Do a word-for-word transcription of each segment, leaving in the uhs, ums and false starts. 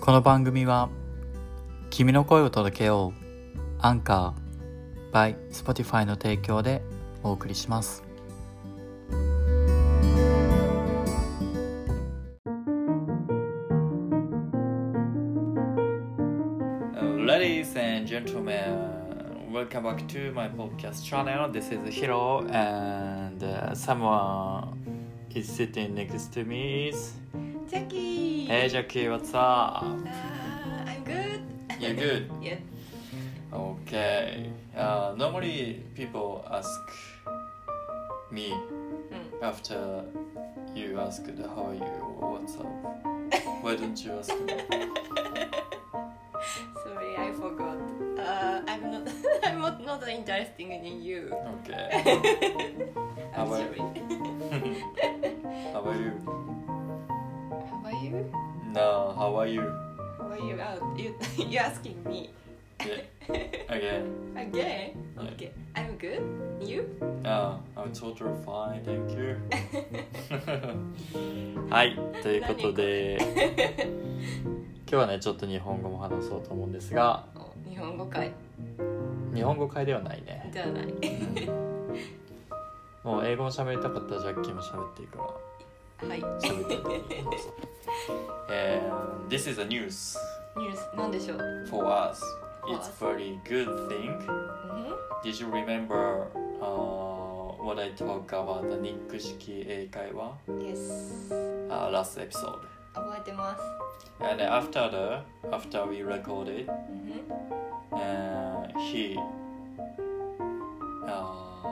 この番組は君の声を届けようアンカー by Spotify の提供でお送りします。Ladies and gentlemen, welcome back to my podcast channel. This is Hiro and uh, someone is sitting next to me is Jackie. Hey Jackie, what's up? Uh, I'm good. You're good? Yeah. Okay. Uh, normally people ask me Mm. after you asked how are you or what's up. Why don't you ask me? Sorry, I forgot. Uh, I'm not. I'm not, not interested in you. Okay. I'm How are sorry. How are you? How are you? No, how are you? How are you? Oh, you you're asking me Yeah. Again. again? Yeah. Okay. I'm good. You? Uh, I'm totally fine, thank you. はい、ということで今日はねちょっと日本語も話そうと思うんですが、 お日本語会日本語会ではないね。 じゃない。 もう英語も喋りたかったらジャッキーも喋っていいから。 はい。 喋っていいどうぞ。And this is a news ニュースなんでしょう。 for us. For It's us. very good thing. うん Did you remember uh, what I talked about the ニック式英会話 Yes. uh, last episode? 覚えてます。 And after the after we recorded, うん uh, he uh,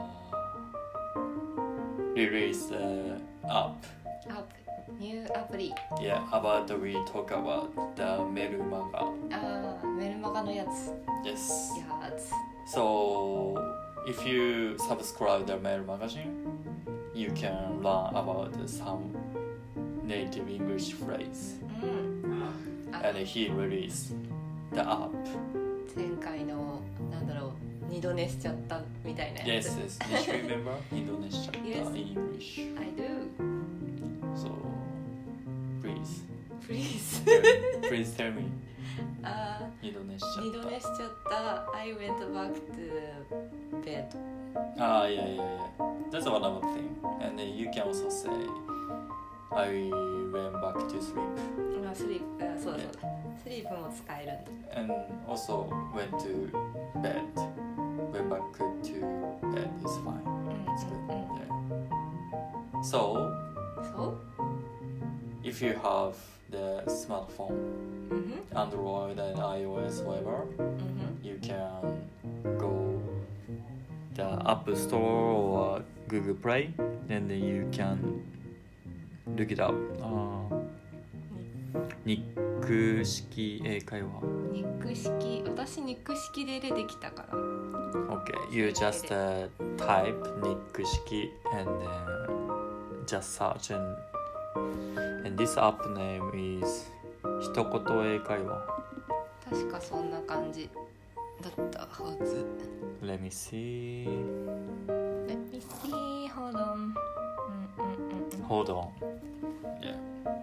released the app. アプニューアプリ。 Yeah, about we talk about the メルマガ。 ああ、メルマガのやつ。 Yes. やつ。 So if you subscribe the mail magazine, you can learn about some native English phrase. うん。あ And he released the app. 前回のなんだろう二度寝しちゃったみたいなや Yes, つ。 yes. Did you remember Indonesia Yes. in English? I do. So please, Please. please tell me あ Indonesia. ー二度寝しちゃった。I went back to bed. Ah, yeah, yeah, yeah. That's one other thing. And then you can also say, I went back to sleep. まあスリープ、あそうだそうだ。スリープも使えるんだ。 And also went to bed. Went back to bed is fine. うん It's good. うんうん。 Yeah. So, そう？ if you have the smartphone, うんふん Android and iOS, whatever, うんふん you can go the App Store or Google Play, and then you can look it up. Uh, ニック式英会話。 ニック式、私ニック式でできたから。 Okay, you just uh, type ニック式 and then just search and and this app name is 一言英会話。 確かそんな感じだったはず。 Let me see. Let me see, hold on. うんうんうんうん。 Hold on. Yeah.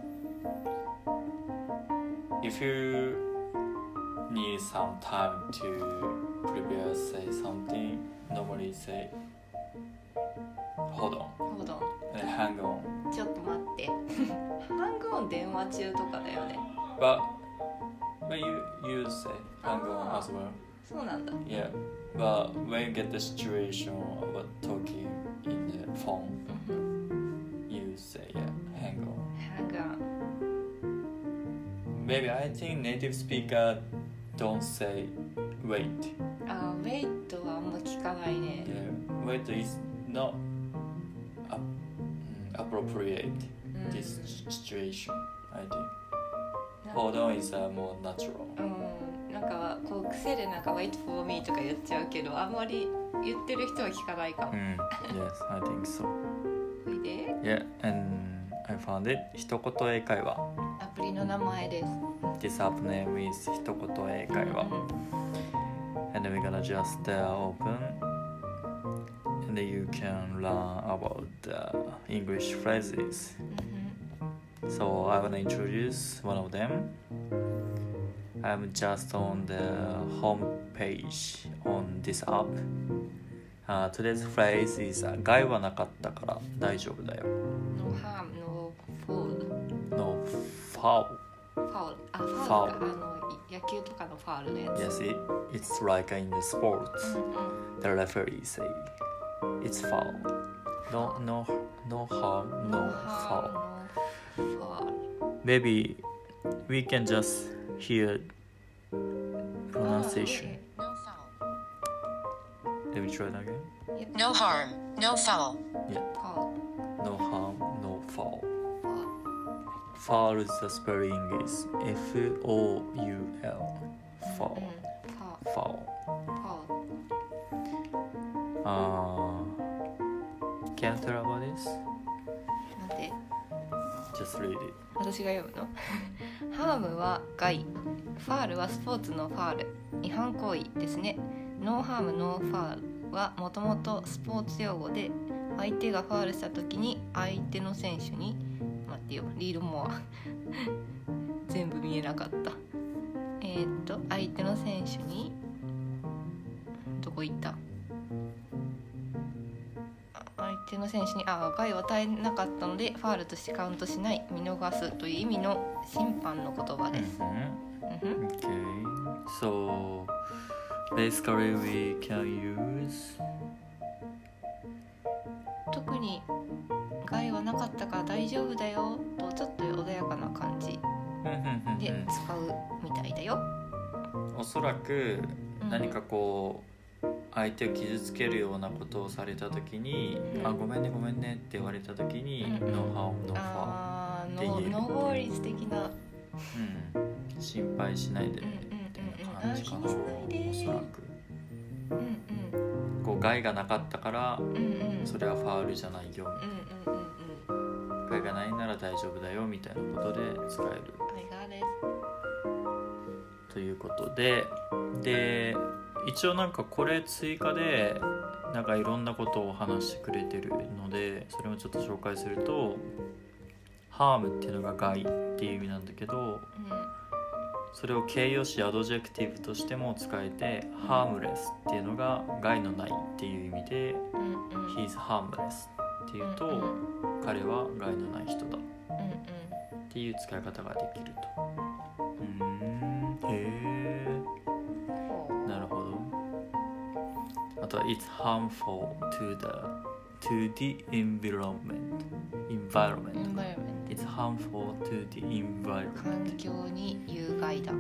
If you need some time to prepare, say something, normally say hold on Hold on. and hang on. ちょっと待って。ハングオン電話中とかだよね。 But but you you say hang on as well. そうなんだ。 Yeah. But when you get the situation about talking in the phone, うん you say yeah, hang on. ハングオン。 Maybe I think native speaker don't say wait. あー、ウェイトはあんま聞かないね。 Yeah, wait is not up, mm, appropriate うん this situation. I think. Hold on is uh, more natural. うん、なんかこう癖でなんか wait for me とか言っちゃうけど、あんまり言ってる人は聞かないかも。 Mm, yes, I think so. それで Yeah, and I found it. 一言英会話。 アプリの名前です。 This app name is 一言英会話。And then we're gonna just uh, open and then you can learn about the English phrases. So I wanna introduce one of them. I'm just on the home page on this app、uh, Today's phrase is 害はなかったから大丈夫だよ No harm, no foul No foul Foul あ、ファウルかあの野球とかのファウルのやつ Yes, it, it's like in the sports、 うんうん、 The referee say it's foul No, no, no harm, no foul No foul Maybe we can just hear pronunciation Ah, No foul. Let me try it again okay. No harm. No foul. Yeah, Foul no harm, no foul Foul Foul, the spelling is F O U L Foul、 うん、Foul Foul Foul uh, Can you tell about this? なんて Just read it 私が読むのハームは害、ファールはスポーツのファール、違反行為ですね。ノーハームノーファールはもともとスポーツ用語で、相手がファールした時に相手の選手に待ってよ、リードモア全部見えなかった。えー、っと相手の選手にどこ行った？相手の選手にあ害を与えなかったのでファールとしてカウントしない、見逃すという意味の審判の言葉です。 mm-hmm. うん、 Okay, so basically we can use 特に害はなかったから大丈夫だよとちょっと穏やかな感じで使うみたいだよ。 おそらく何かこう相手を傷つけるようなことをされた時に、うん、あごめんねごめんねって言われた時に、うん、No harm, no foul って言えるノー法律的な、 うん、心配しないでねっていう感じかな、おそらく、うんうん、こう害がなかったから、うんうん、それはファウルじゃないよみたいな、うんうんうん、害がないなら大丈夫だよみたいなことで使える I got it ということで、で一応なんかこれ追加でなんかいろんなことを話してくれてるので、それもちょっと紹介すると、ハームっていうのが害っていう意味なんだけど、うん、それを形容詞アドジェクティブとしても使えて、ハームレスっていうのが害のないっていう意味で、うんうん、He's harmless っていうと、うんうん、彼は害のない人だ、うんうん、っていう使い方ができると。うーん、へー、なるほど。あとは It's harmful to the to the environment environment, environment. It's harmful to the environment 環境に有害だ、うん、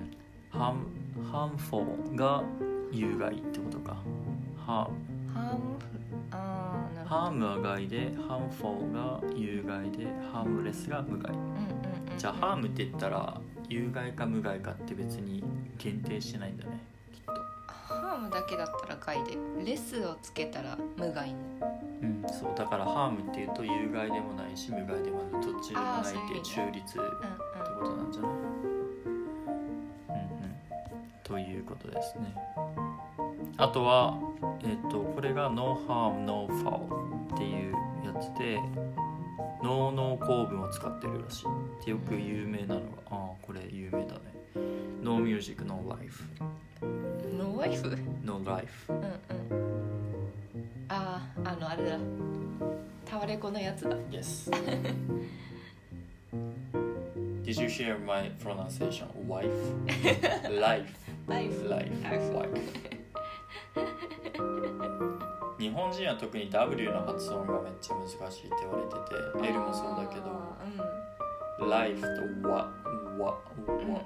harm, harmful が有害ってことか。 harm harm あーなるほど。 harm は害で harmful が有害で harmless が無害、うんうんうんうん、じゃあ harm って言ったら有害か無害かって別に限定してないんだね、きっと。 ハームだけだったら害で、レスをつけたら無害に。 うん、そうだからハームっていうと有害でもないし無害でもない、どっちでもないっていう中立ってことなんじゃない？うんうん、ということですね。あとはえっとこれが No harm, no foul っていうやつで、ノーノー構文を使ってるらしいってよく有名なのが、ああこれ有名だね。No music, no life。 No life？ No life。 うんうん。ああ、あのあれだ。タワレコのやつだ。 Yes. Did you hear my pronunciation? Wife? Life. Life. Life. Wife. 日本人は特に W の発音がめっちゃ難しいって言われてて、L もそうだけど、うん、Life と wa, wa, wa,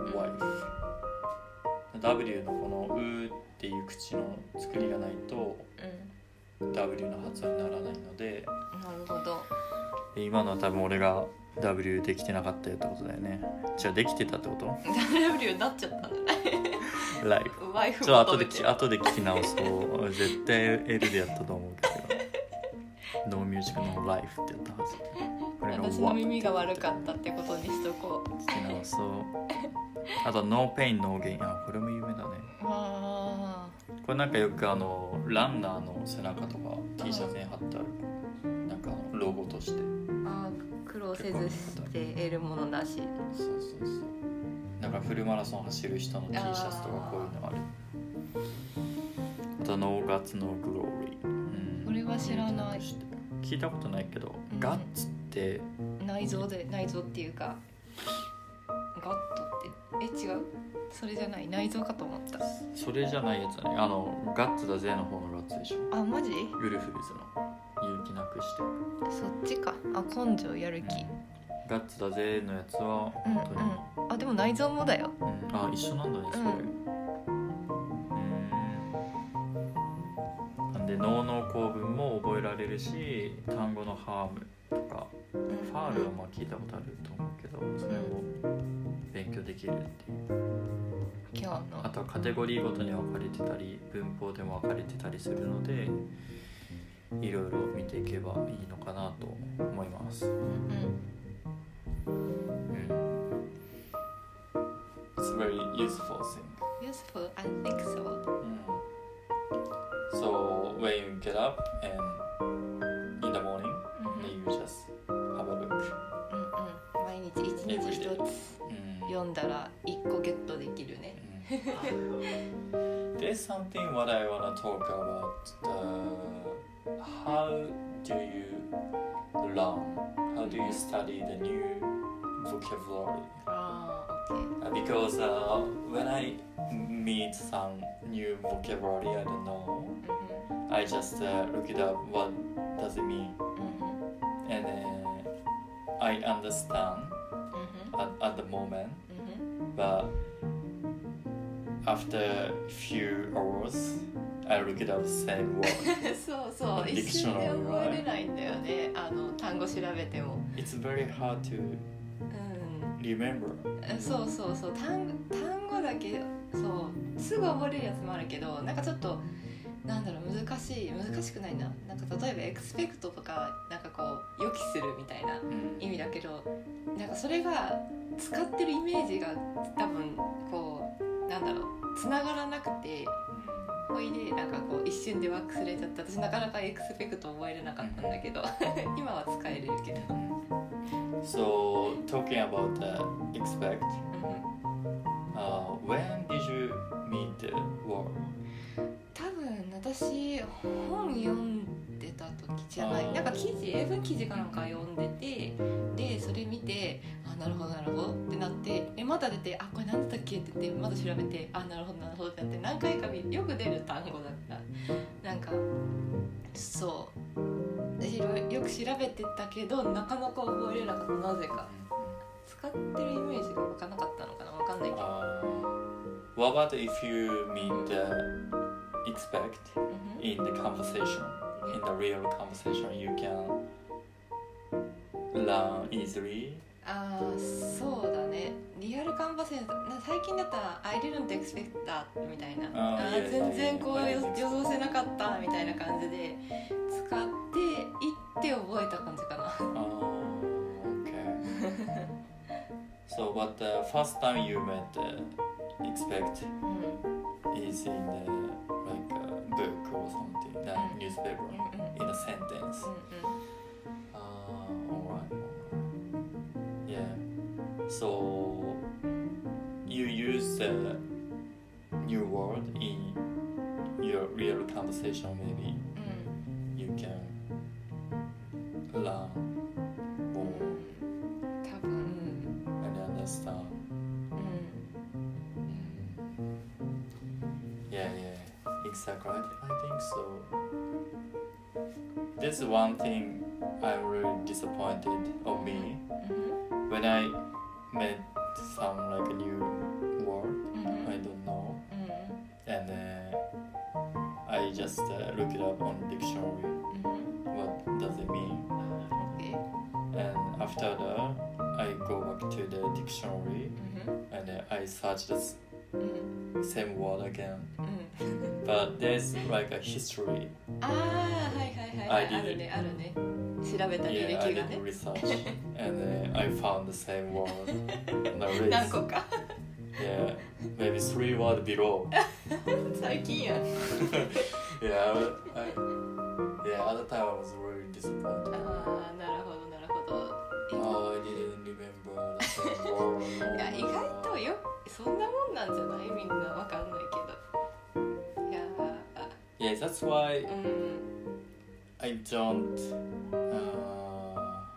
wife。W のこのうーっていう口の作りがないと、うん、W の発音にならないので、 なるほど。 今のは多分俺が W できてなかったよってことだよね。じゃあできてたってこと？ W になっちゃったんだね。 ライフ。 ワイフちょっと後で後で聞き直すと絶対 L でやったと思うけど、No music no life ってやったはず。これが私の耳が悪かったってことにしとこう。 聞き直そう。あと No pain no gain。あ、これも有名だね。 あこれなんかよくあのランナーの背中とか T シャツに貼ってある、なんかロゴとして。 あ、 苦労せずして得るものなし。 そうそうそう。だからフルマラソン走る人の T シャツとかこういうのある。あとノーガッツノーグローリー、うん、 これは知らない。 聞いたことないけど、うん、ガッツって内臓で内臓っていうかガットってえ違う？それじゃない内臓かと思った。 それじゃないやつだね。あのガッツだぜの方のガッツでしょ。 あマジ？ ウルフルズの勇気なくして。 そっちか。あ根性やる気、うん、 ガッツだぜのやつは本当に、 うんうん、あでも内臓もだよ、 うん、あ一緒なんだねそれ、うん、なんで脳の構文も覚えられるし、単語のハームとか、うん、ファールはまあ聞いたことあると思うけど、それも勉強できるっていう。 今日のあとはカテゴリーごとに分かれてたり文法でも分かれてたりするので、いろいろ見ていけばいいのかなと思います。うん、うん、It's very useful thing. Useful, I think so. Mm. So when you get up and in the morning, mm-hmm. you just have a look. うんうん、毎日一日一つ読んだら一個ゲットできるね。 There's something what I want to talk about. The, how do you learn? How do you study the new vocabulary? Ah, okay. Uh, because uh, when I meet some new vocabulary, I don't know. Mm-hmm. I just uh, look it up. What does it mean? Mm-hmm. And uh, I understand mm-hmm. at, at the moment, mm-hmm. but after few hours, I look it up the same word. そうそう、一瞬で覚えれないんだよね。あの単語調べても。 It's very hard to remember. うん、そうそうそう、単単語だけそうすぐ覚えれるやつもあるけど、なんかちょっとなんだろう難しい難しくないな。なんか例えばエクスペクトとかなんかこう予期するみたいな意味だけど、うん、なんかそれが使ってるイメージが多分こうなんだろうつながらなくて。ほいでなんかこう一瞬で忘れちゃった。私なかなかエクスペクト覚えれなかったんだけど今は使えれるけど。 So talking about the expect, uh, when did you meet the word? 多分私本読んでた時じゃない。なんか記事英文記事かなんか読んでて、でそれ見てあなるほどなるほどってなって、えまた出てあこれ何だったっけって言ってまだ調べてあなるほどなるほどってなって何回か見よく出る単語だったなんかそう私よく調べてたけどなかなか覚えれなかった。なぜか使ってるイメージが分からなかったのかな分かんないけど。 uh, What about if you meet the expect in the conversation, in the real conversation, you can learn easily? ああそうだね。リアルカンバセーション最近だったら I didn't expect that みたいな、ああ全然こう予想せなかったみたいな感じで使っていって覚えた感じかな。 Oh, okay. So what the first time you met the expect is in the like a book or something, the newspaper in a sentence. Ah, alright. Yeah. So you use the new word in your real conversation. Maybe you can learn more and understand. Yeah, yeah, exactly. I think so. This is one thing I'm really disappointed of me. Mm-hmm. When I met some like a new word, mm-hmm. I don't know, mm-hmm. and uh, I just uh, look it up on dictionary. Mm-hmm. What does it mean? Okay. And after that, I go back to the dictionary, mm-hmm. and uh, I search the mm-hmm. same word again. Mm-hmm. But there's like a history. ああはいはいはい、はい、あるねあるね。調べた履歴がね。 Yeah, I did research and uh, I found the same word on the list. 何個か。 Yeah, maybe three words below. 最近やん。 Yeah, I, yeah, at the time I was really disappointed. ああなるほどなるほど。 Yeah, that's why うん I don't uh,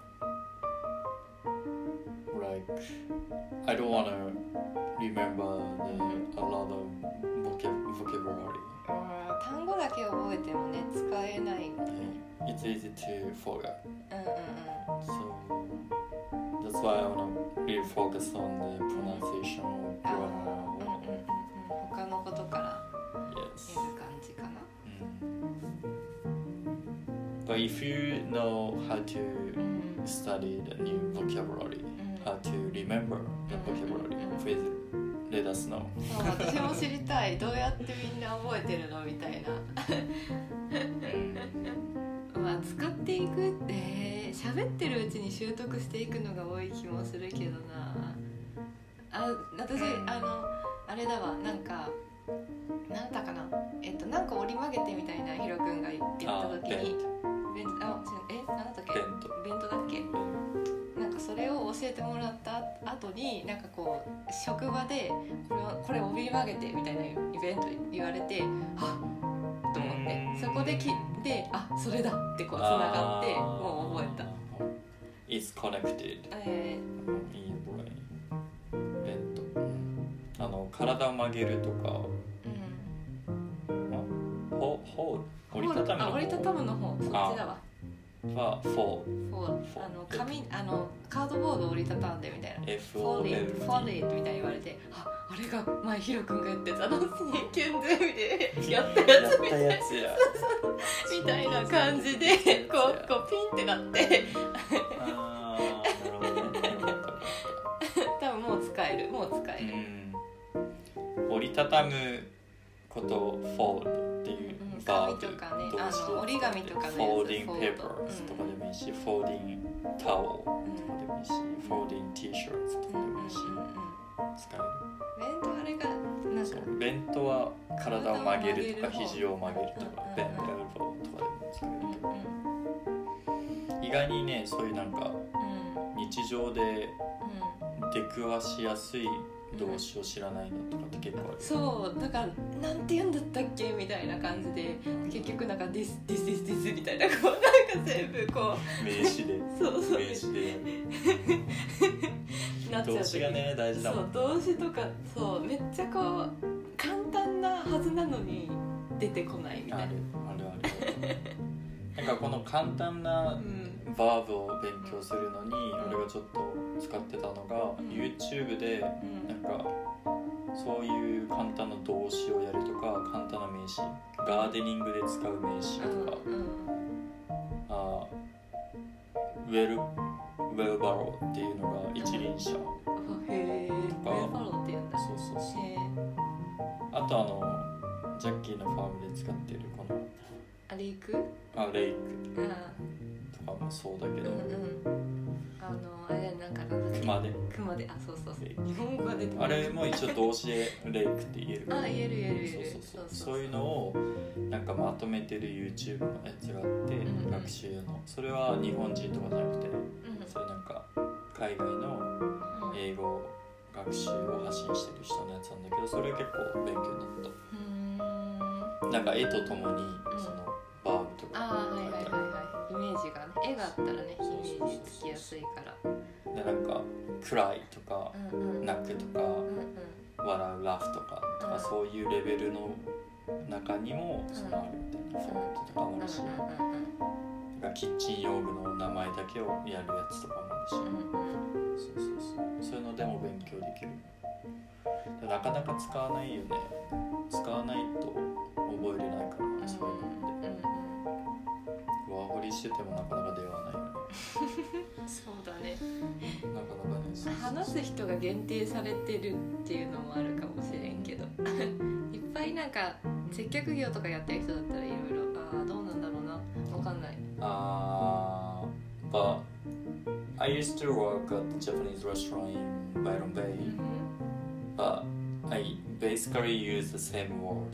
like I don't wanna remember the, a lot of vocab- vocabulary. うん単語だけ覚えてもね使えないの Yeah, it's easy to forget. うんうんうん So that's why I wanna really focus on the pronunciation or あー grammar. うんうんうんうん他のことから Yes. やる感じかな Mm. But if you know how to うん study the new vocabulary, うん how to remember the vocabulary, please let us know. そう私も知りたいどうやってみんな覚えてるのみたいなまあ使っていくって喋ってるうちに習得していくのが多い気もするけどなあ私あのあれだわなんかなんだかなえっとなんか折り曲げてみたいなヒロ君が言った時にベンあえなんだったっけベントベントだっけなんかそれを教えてもらった後になんかこう職場でこれをこれ折り曲げてみたいなイベント言われてあっと思ってそこで聞いてあそれだってこうつながってもう覚えた It's connected え in your brain. ベント。あの体を曲げるとか、 ーうんホホール折りたたむのあ折りたたむの方そっちだわはフォーフォーあの紙あのカードボードを折りたたんでみたいな F フォ O ーリ L ー D フォーリーみたいに言われてああれが前ヒロ君がやってたあのキュンゼミでやったやつみたいなやつやみたいな感じでこうこうピンってなってあーなるほどね多分もう使えるもう使える、 うん折りたたむことをフォールっていううんバーブ紙とかね動詞であの折り紙とかのやつフォーディングフォードペーパーズとかでもいいし、フォーディングタオルとかでもいいし、フォーディング T シャツとかでもいいし、使える。 ベントあれがなんかそうベントは体を曲げるとか体を曲げる方肘を曲げるとか、 うんベントエルボーとかでも使えるけど、 うんうん意外にねそういうなんかうん日常でうん出くわしやすい動詞を知らないのとかって結構ある。 そうだからなんて言うんだったっけみたいな感じで結局なんか this this this this みたいなこうなんか全部こ名詞でうそうそう名詞でやる。 なっちゃう動詞がね大事だもん。 そう動詞とかそうめっちゃこう簡単なはずなのに出てこないみたいなあるあるあるある。なんかこの簡単なうんバーブを勉強するのに俺がちょっと使ってたのが、 うん YouTube でうんなんかそういう簡単な動詞をやるとか簡単な名詞ガーデニングで使う名詞とか、 うんうんあウェルウェルバローっていうのが一輪車、 あへえウェルファローって言うんだそうそうそうへえあとあのジャッキーのファームで使ってるこのあれ行くあレイクあとかもそうだけど、 うんうんあのあれなんかなんだっけ熊で熊であそうそうそうレイク日本語が出てこないあれも一応動詞でレイクって言えるあ言える言える言えるそうそうそうそういうのをなんかまとめてる YouTube のやつがあって、 うん学習のそれは日本人とかじゃなくてうんそれなんか海外のうん英語学習を発信してる人のやつなんだけどそれ結構勉強になっうーんたなんか絵とともにそのバーブとかああはいはいはい書いてあるはいイメージがね絵があったらねイメージつきやすいからでなんか暗いとかうんうん泣くとかうんうん笑うラフとかとかうんそういうレベルの中にもそのあるみたいなフォントとかもあるしうんなんかキッチン用具の名前だけをやるやつとかもあるしうんうんうんそうそうそうそういうのでも勉強できるでなかなか使わないよね使わないと覚えれないからねそういうのって上掘りしててもなかなか出会わないよねそうだねなかなかねそうそう話す人が限定されてるっていうのもあるかもしれんけどいっぱいなんか接客業とかやってる人だったらいろいろああどうなんだろうなわかんないあー but I used to work at the Japanese restaurant in Byron Bay but I basically use the same word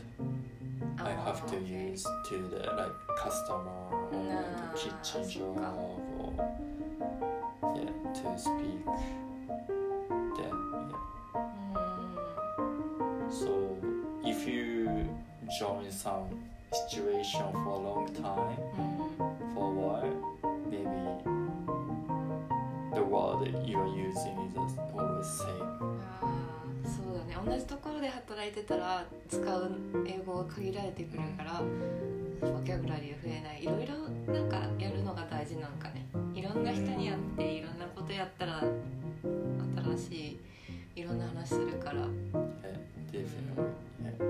I have to use to the like customer or like a kitchen job or yeah to speak then yeah so if you join some situation for a long time, うん、 for a while, maybe the word that you are using is always same. あーそうだね、同じところで働いてたら使う英語が限られてくるからボキャブラリーが増えない。いろいろなんかやるのが大事なんかね。いろんな人にやっていろんなことやったら新しいいろんな話するから。 Yeah, definitely. Yeah.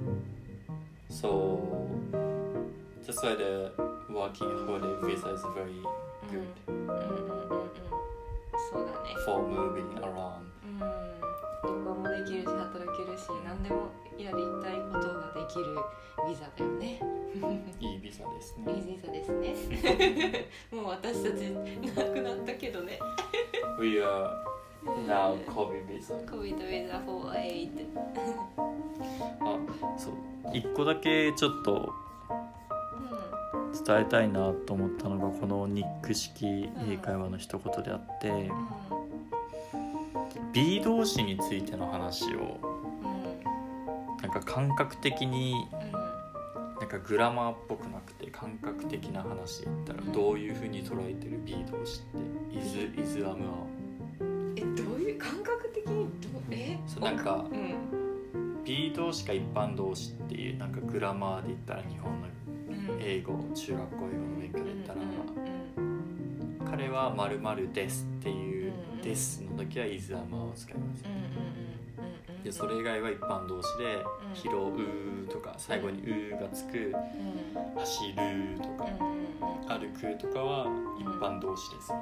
So that's why the working holiday visa is very good うんうんうんうんうんそうだね。 for moving around. うん旅行もできるし働けるし何でもやりたいことができるビザだよね。 いいビザですいいね。 ビザですね。もう私たちなくなったけどね。 We are now COVID visa. コビドビザフォーエイト。 あ、そう。一個だけちょっと伝えたいなと思ったのがこのニック式英会話の一言であって、 うん B 動詞についての話をうんなんか感覚的にうんなんかグラマーっぽくなくて感覚的な話で言ったらどういう風に捉えてる B 動詞って is, is, am, are えどういう感覚的にどうえそうなんかうん B 動詞か一般動詞っていうなんかグラマーで言ったら日本のうん英語中学校英語の勉強で言ったら、 うんうん彼は〇〇ですっていううんですの時は is, am, are を使います。 うんうんうんでそれ以外は一般動詞でうん拾うとか最後にうがつくうん走るとかうん歩くとかは一般動詞ですみたい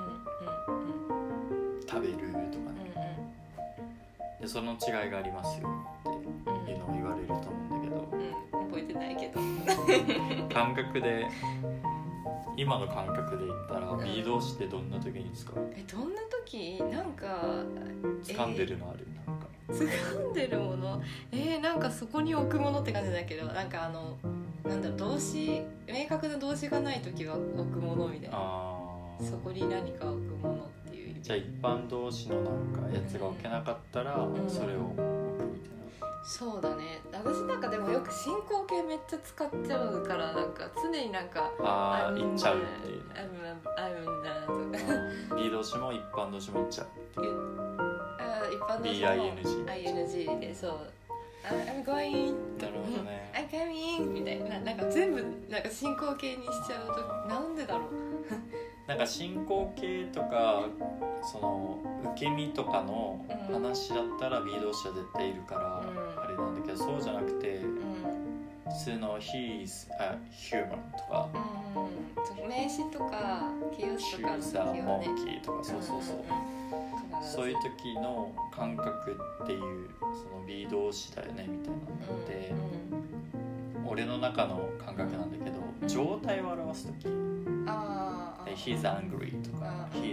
な食べるとかねでその違いがありますよっていうのを言われると思うんだけどうん覚えてないけど感覚で今の感覚で言ったら B 動詞ってどんな時に使う？ えどんな時なんか掴んでるのある？なんか掴んでるものえー、なんかそこに置くものって感じだけどなんかあのなんだろう動詞明確な動詞がない時は置くものみたいなあそこに何か置くものっていう意味じゃあ一般動詞のなんかやつが置けなかったらうんそれを置くみたいなそうだね私なんかでもよく進行形めっちゃ使っちゃうからなんか常になんかああ言っちゃうっていうあるあるなとかあー B 動詞も一般動詞も言っちゃうっていうあ一般のビーアイエヌジーアイエヌジー でそうあ I'm going なるほどね I'm coming みたいななんか全部なんか進行形にしちゃうとなんでだろうなんか進行形とかその受け身とかの話だったら B 動詞は絶対いるからうんあれなんだけどそうじゃなくてうん普通の He's a human とかうんそう名詞とか形容詞とかの She's 時 a はね monkey とかそうそうそうそういう時の感覚っていうその B 動詞だよねみたいなのって俺の中の感覚なんだけど状態を表す時ああ He's angry とかうん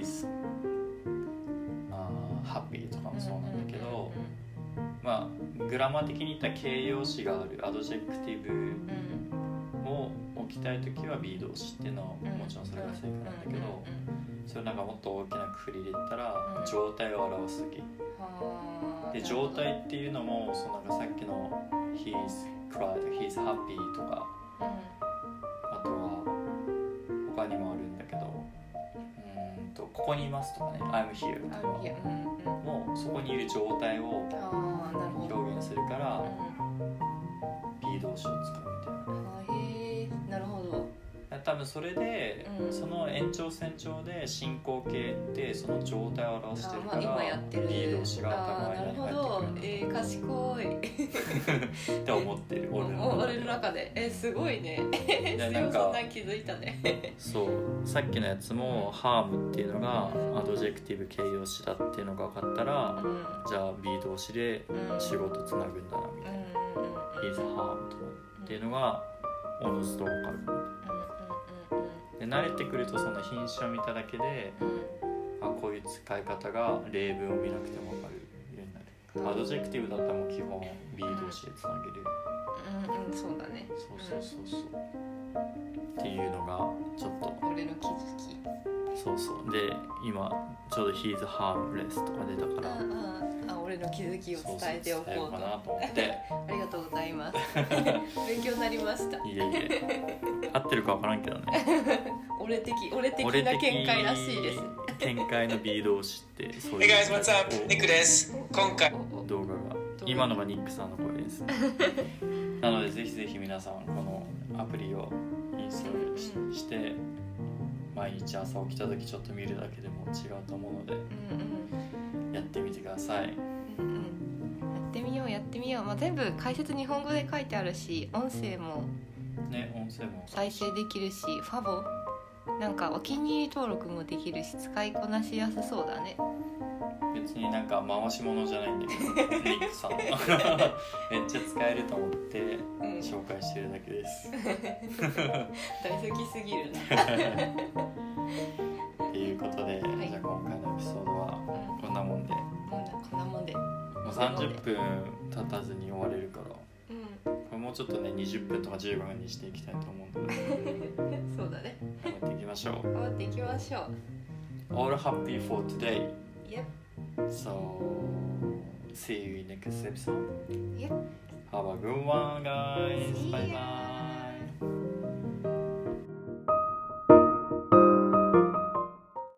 He's、uh, happy とかもそうなんだけどまあグラマー的に言ったら形容詞があるアドジェクティブを置きたい時は B 動詞っていうのはもちろんそれが正解なんだけどそれなんかもっと大きなくくりで言ったら状態を表す時で状態っていうのもそのなんかさっきの He's cried, He's happy とかあとは他にもあるんだけどうーんとここにいますとかね I'm here とかもうそこにいる状態を表現するから B 動詞を使うみたいなへえなるほど多分それで、 うんその延長線上で進行形ってその状態を表してるから、 あまあ今やってる B 動詞が頭なるに入ほどってくるえー、賢いって思ってる俺の中で俺の中でえー、すごいねでなんかそんなん気づいたねそうさっきのやつもハームっていうのがアドジェクティブ形容詞だっていうのが分かったら、 うんじゃあ B 動詞で仕事つなぐんだなみたいな、 うん He's harmed っていうのがおのずと分かるみたいなで慣れてくるとその品詞を見ただけであこういう使い方が例文を見なくても分かるようになるアドジェクティブだったらもう基本 B 動詞でつなげるうんうんそうだねそうそうそうそうっていうのがちょっと俺の気づきそうそうで今ちょうど He's harmless とか出たからあああ俺の気づきを伝えておこうとそうそう伝えようかなと思ってありがとうございます勉強になりました。 いえいえ合ってるか分からんけどね俺的俺的な見解らしいです。 見解のビードを知ってそう Hey いう guys, what's up? ニックです。今回おお動画が今のがニックさんの声ですなのでぜひぜひ皆さんこのアプリをインストール し,、 うんして毎日朝起きた時ちょっと見るだけでも違うと思うのでうんやってみてください。 うんうんうん、やってみようやってみよう、まあ、全部解説日本語で書いてあるし音声もね、音声も再生できるしファボなんかお気に入り登録もできるし使いこなしやすそうだね。 別になんか回し物じゃないんだけどニックさんめっちゃ使えると思ってうん紹介してるだけです大好きすぎるなっていうことで、 はいじゃあ今回のエピソードはうんこんなもんで、 もうこんなもんでもうさんじゅっぷん経たずに終われるからうんこれもうちょっとねにじゅっぷんとかじゅうごふんにしていきたいと思うのでそうだね頑張っていきましょう。 頑張っていきましょう。 All happy for today. Yep. So see you in next episode. Yep. Have a good one guys. See Bye ya. bye.